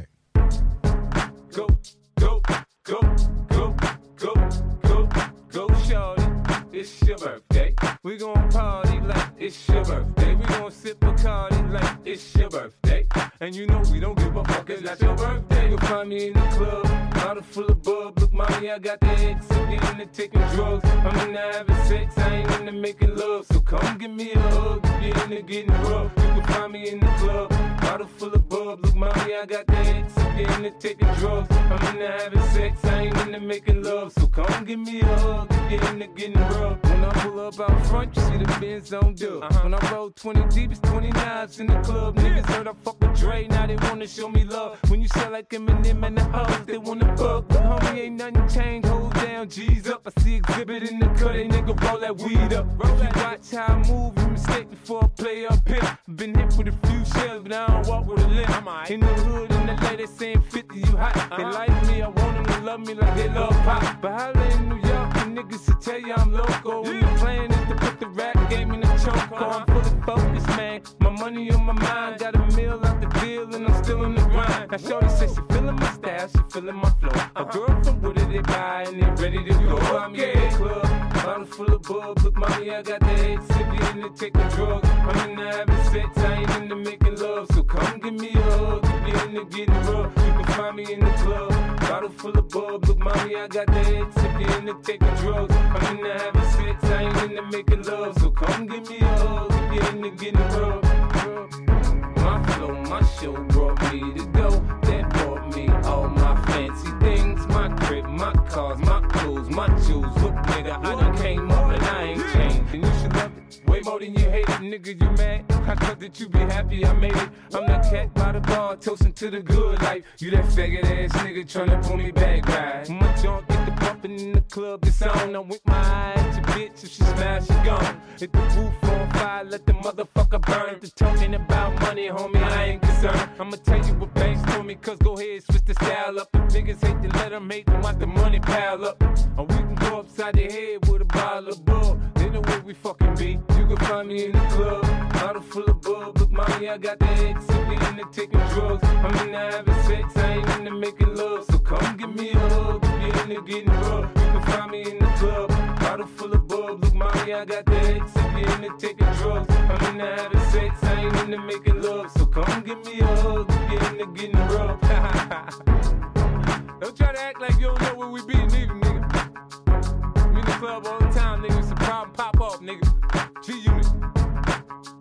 Go, go, go, go, go, go, go, shorty. It's your birthday. We gon' party like it's your birthday. We gon' sip Bacardi like it's your birthday. And you know we don't give a fuck, it's not your birthday. You'll find me in the club, bottle full of bub. Look, mommy, I got the X, I'm into taking drugs. I'm into having sex, I ain't into making love. So come give me a hug, if you're into getting rough. You can find me in the club, bottle full of bub. Look, mommy, I got the X, I'm into taking drugs. I'm into having sex, I ain't into making love. So come give me a hug, if you're into getting rough. When I pull up out front, you see the Benz on dub. When I roll 20 deep, it's 29s in the club. Niggas heard I fuck with Dre, now they wanna show me love. When you sell like Eminem and the hoes, they wanna fuck. But homie, ain't nothing changed, hold down, G's up. I see exhibit in the cut, they nigga roll that weed up. If you watch how I move, you mistake before I play up here. Been hit with a few shells, but I don't walk with a limp. In the hood, in the LA, they saying 50, you hot. They like me, I want them to love me like they love pop. But holla in New York, the niggas will tell you I'm loco. And the plan is to put the rap game in the choke. I'm fully focused, man. My money on my mind, got a meal out the deal, and I'm still in the grind. Now shorty says she feeling my style, she feeling my flow. A girl from Wooded, they buy and they ready to go. I'm in the club, bottle full of bub. Look, mommy, I got the X, if you in the taking drugs. I'm into having sex, I ain't into making love. So come give me a hug, if you're into getting rough. You can find me in the club, bottle full of bub. Look, mommy, I got the X if you're into taking drugs. I'm into having sex, I ain't into making love. So come give me a hug, if you're into getting rough. My flow, my show brought me to go. That brought me all my fancy things. My crib, my cars, my clothes, my jewels. Look, nigga, I done came up and I ain't changed. And you should love it way more than you hate it. Nigga, you mad? I thought that you be happy I made it. I'm that cat by the bar, toasting to the good life. You that faggot ass nigga tryna pull me back, right? My junk get the bumpin' in the club, it's on. I'm with my eye at your bitch, if she smash, she gone. Hit the roof on fire, let the motherfucker burn. The talking about money, homie, I ain't concerned. I'ma tell you what banks told me, cause go ahead, switch the style up. The niggas hate to let them hate them, watch the money pile up. Or we can go upside the head with a bottle of bug. They know where we fucking be. You can find me in the club, bottle full of bug. Look, mommy, I got the X, if you into taking drugs. I'm into having sex, I ain't into making love. So come give me a hug, if you into getting rough. You can find me in the club, bottle full of bug. Look, mommy, I got the X, if you into taking drugs. I'm into having sex, I ain't into making love. So come give me a hug, if you into getting rough. Don't try to act like you don't know where we be, neither, nigga. We in the club all the time, nigga. It's a problem, pop off, nigga. G-Unit.